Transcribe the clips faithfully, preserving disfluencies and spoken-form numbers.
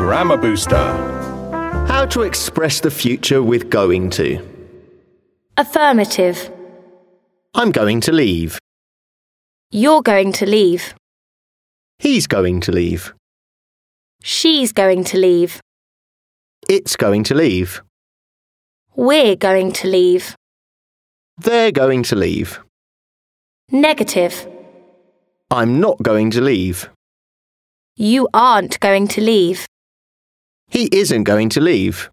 Grammar Booster. How to express the future with going to. Affirmative. I'm going to leave. You're going to leave. He's going to leave. She's going to leave. It's going to leave. We're going to leave. They're going to leave. Negative. I'm not going to leave. You aren't going to leave. He isn't going to leave.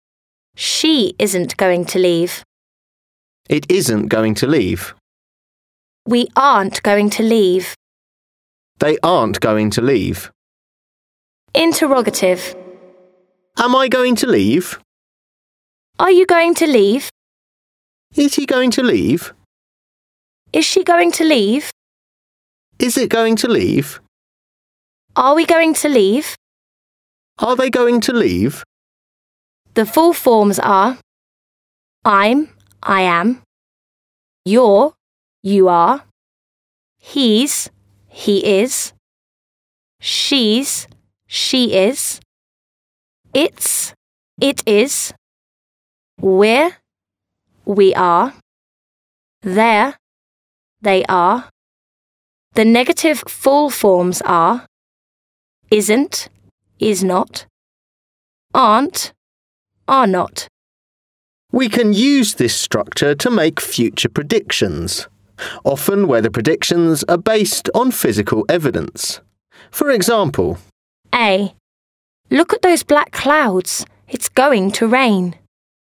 She isn't going to leave. It isn't going to leave. We aren't going to leave. They aren't going to leave. Interrogative. Am I going to leave? Are you going to leave? Is he going to leave? Is she going to leave? Is it going to leave? Are we going to leave? Are they going to leave? The full forms are I'm, I am. You're, you are. He's, he is. She's, she is. It's, it is. We're, we are. They're, they are. The negative full forms are isn't, is not. Aren't, are not. We can use this structure to make future predictions, often where the predictions are based on physical evidence. For example, A. Look at those black clouds. It's going to rain.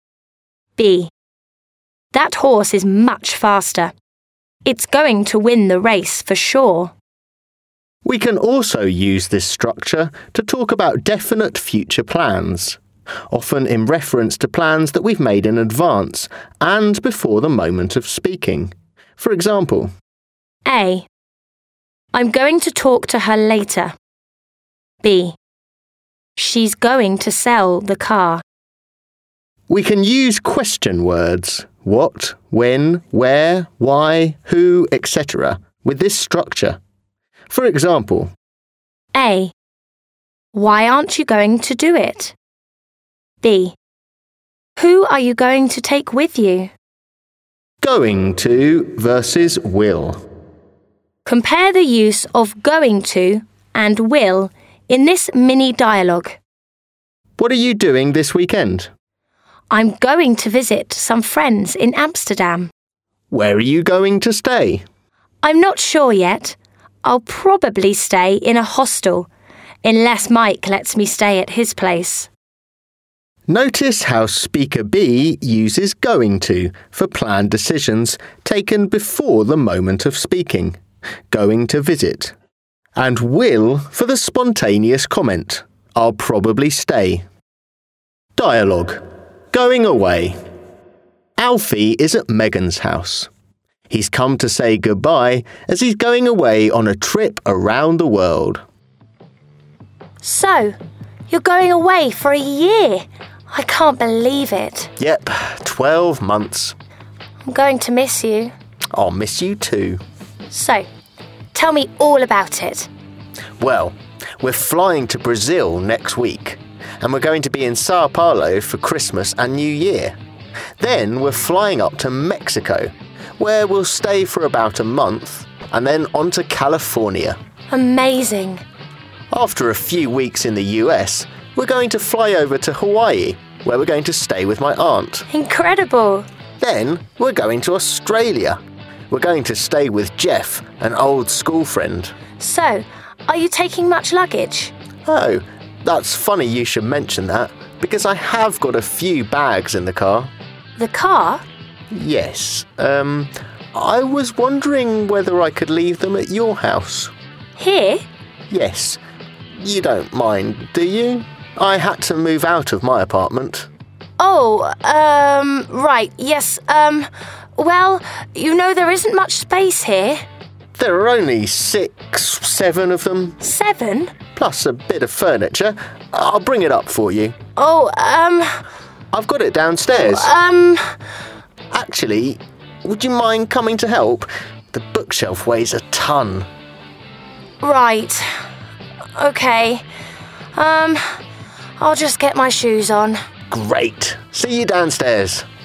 B. That horse is much faster. It's going to win the race for sure. we can also use this structure to talk about definite future plans, often in reference to plans that we've made in advance and before the moment of speaking. For example, A. I'm going to talk to her later. B. She's going to sell the car. we can use question words, what, when, where, why, who, et cetera, with this structure. For example, A. Why aren't you going to do it? B. Who are you going to take with you? going to versus will. Compare the use of going to and will in this mini dialogue. What are you doing this weekend? I'm going to visit some friends in Amsterdam. Where are you going to stay? I'm not sure yet. I'll probably stay in a hostel, unless Mike lets me stay at his place. Notice how Speaker B uses going to for planned decisions taken before the moment of speaking, going to visit, and will for the spontaneous comment, I'll probably stay. Dialogue. Going away. Alfie is at Megan's house. He's come to say goodbye as he's going away on a trip around the world. So, you're going away for a year? I can't believe it. Yep, twelve months. I'm going to miss you. I'll miss you too. So, tell me all about it. Well, we're flying to Brazil next week, and we're going to be in Sao Paulo for Christmas and New Year. Then we're flying up to Mexico, where we'll stay for about a month, and then on to California. Amazing. After a few weeks in the U S, we're going to fly over to Hawaii, where we're going to stay with my aunt. Incredible. Then we're going to Australia. We're going to stay with Jeff, an old school friend. So, are you taking much luggage? Oh, that's funny you should mention that, because I have got a few bags in the car. The car? Yes, um, I was wondering whether I could leave them at your house. Here? Yes. You don't mind, do you? I had to move out of my apartment. Oh, um, right, yes, um, well, you know there isn't much space here. There are only six, seven of them, Seven? plus a bit of furniture. I'll bring it up for you. Oh, um, I've got it downstairs. um, Actually, would you mind coming to help? The bookshelf weighs a ton. right. Okay. Um, I'll just get my shoes on. Great. See you downstairs.